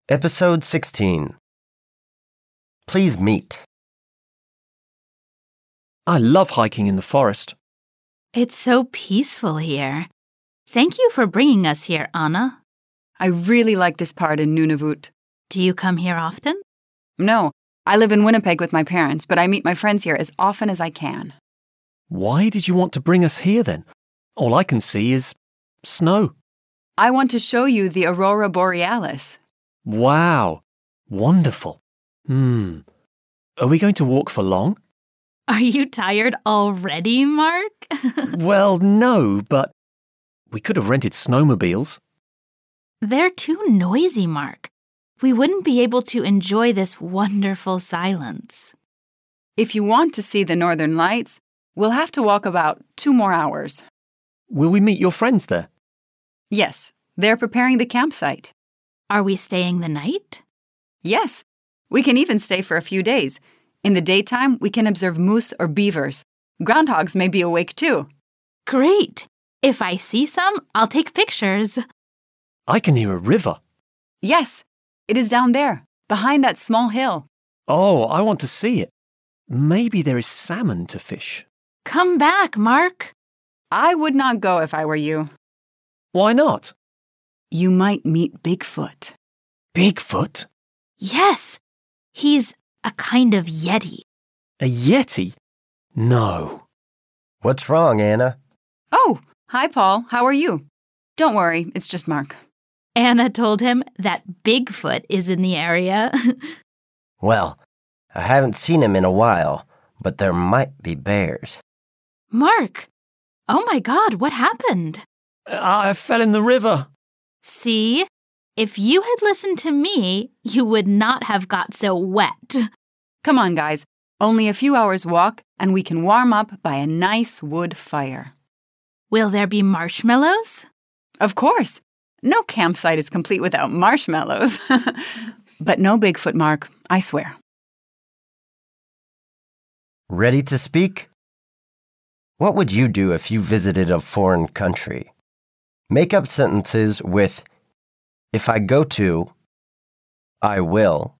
Episode 16. Please meet. I love hiking in the forest. It's so peaceful here. Thank you for bringing us here, Anna. I really like this part in Nunavut. Do you come here often? No, I live in Winnipeg with my parents, but I meet my friends here as often as I can. Why did you want to bring us here then? All I can see is snow. I want to show you the Aurora Borealis. Wow, wonderful. Are we going to walk for long? Are you tired already, Mark? Well, no, but we could have rented snowmobiles. They're too noisy, Mark. We wouldn't be able to enjoy this wonderful silence. If you want to see the Northern Lights, we'll have to walk about 2 more hours. Will we meet your friends there? Yes, they're preparing the campsite. Are we staying the night? Yes, we can even stay for a few days. In the daytime, we can observe moose or beavers. Groundhogs may be awake too. Great! If I see some, I'll take pictures. I can hear a river. Yes, it is down there, behind that small hill. Oh, I want to see it. Maybe there is salmon to fish. Come back, Mark. I would not go if I were you. Why not? You might meet Bigfoot. Bigfoot? Yes, he's a kind of yeti. A yeti? No. What's wrong, Anna? Oh, hi, Paul. How are you? Don't worry, it's just Mark. Anna told him that Bigfoot is in the area. Well, I haven't seen him in a while, but there might be bears. Mark! Oh my God, what happened? I fell in the river. See? If you had listened to me, you would not have got so wet. Come on, guys. Only a few hours walk, and we can warm up by a nice wood fire. Will there be marshmallows? Of course. No campsite is complete without marshmallows. But no Bigfoot, Mark, I swear. Ready to speak? What would you do if you visited a foreign country? Make up sentences with if I go to, I will,